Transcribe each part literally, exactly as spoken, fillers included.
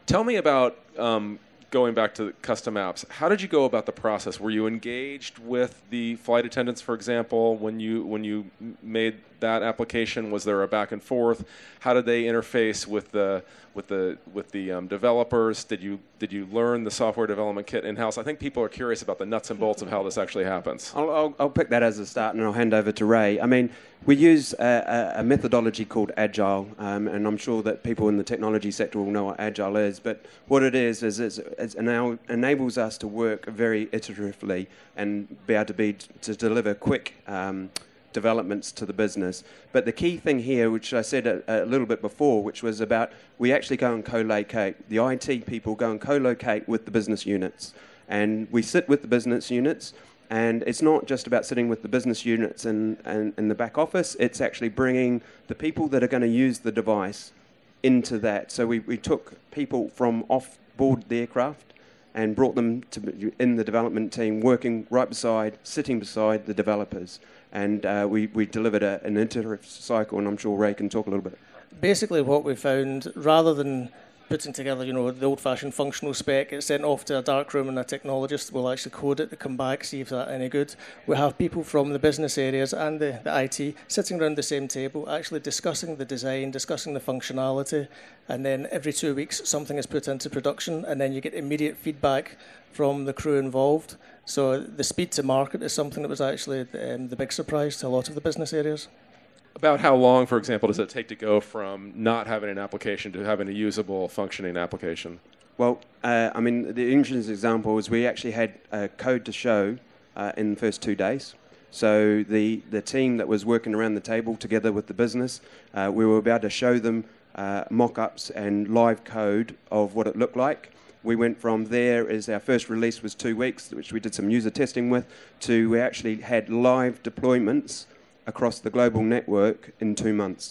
Tell me about um, going back to custom apps. How did you go about the process? Were you engaged with the flight attendants, for example, when you when you made that application? Was there a back and forth? How did they interface with the with the with the um, developers? Did you did you learn the software development kit in house? I think people are curious about the nuts and bolts of how this actually happens. I'll, I'll, I'll pick that as a start, and I'll hand over to Ray. I mean, we use a, a methodology called Agile, um, and I'm sure that people in the technology sector will know what Agile is. But what it is is it's, it ena- enables us to work very iteratively and be able to be to deliver quick Um, developments to the business. But the key thing here, which I said a, a little bit before, which was about we actually go and co-locate. The I T people go and co-locate with the business units. And we sit with the business units, and it's not just about sitting with the business units and in, in, in the back office, it's actually bringing the people that are going to use the device into that. So we, we took people from off board the aircraft and brought them to in the development team, working right beside, sitting beside the developers. And uh, we, we delivered a, an iterative cycle, and I'm sure Ray can talk a little bit. Basically what we found, rather than putting together, you know, the old-fashioned functional spec, it's sent off to a dark room and a technologist will actually code it to come back, see if that's any good. We have people from the business areas and the, the I T sitting around the same table, actually discussing the design, discussing the functionality, and then every two weeks something is put into production, and then you get immediate feedback from the crew involved. So the speed to market is something that was actually um, the big surprise to a lot of the business areas. About how long, for example, does it take to go from not having an application to having a usable, functioning application? Well, uh, I mean, the interesting example is we actually had uh, code to show uh, in the first two days. So the, the team that was working around the table together with the business, uh, we were about to show them uh, mock-ups and live code of what it looked like. We went from there, as our first release was two weeks, which we did some user testing with, to we actually had live deployments across the global network in two months.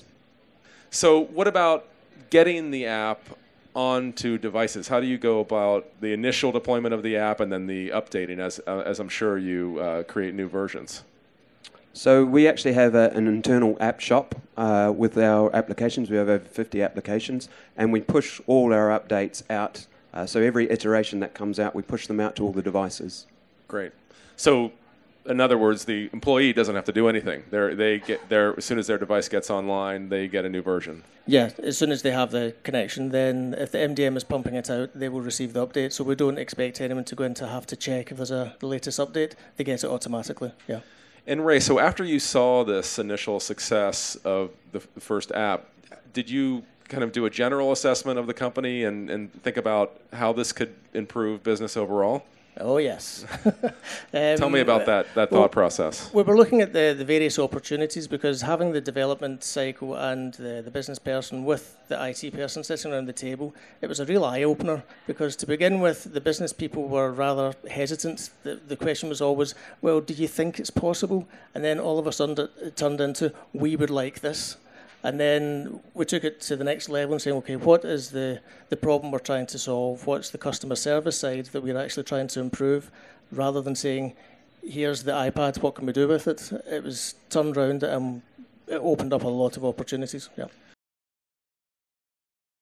So what about getting the app onto devices? How do you go about the initial deployment of the app and then the updating as, uh, as I'm sure you uh, create new versions? So we actually have a, an internal app shop uh, with our applications. We have over fifty applications, and we push all our updates out. Uh, so every iteration that comes out, we push them out to all the devices. Great. So in other words, the employee doesn't have to do anything. They're, they get their, as soon as their device gets online, they get a new version. Yeah, as soon as they have the connection, then if the M D M is pumping it out, they will receive the update. So we don't expect anyone to go in to have to check if there's a the latest update. They get it automatically, yeah. And Ray, so after you saw this initial success of the f- first app, did you kind of do a general assessment of the company and, and think about how this could improve business overall? Oh, yes. um, Tell me about that, that well, thought process. We were looking at the, the various opportunities, because having the development cycle and the, the business person with the I T person sitting around the table, it was a real eye-opener, because to begin with, the business people were rather hesitant. The, the question was always, well, do you think it's possible? And then all of a sudden it turned into, we would like this. And then we took it to the next level and saying, okay, what is the, the problem we're trying to solve? What's the customer service side that we're actually trying to improve? Rather than saying, here's the iPad, what can we do with it? It was turned around and it opened up a lot of opportunities. Yeah.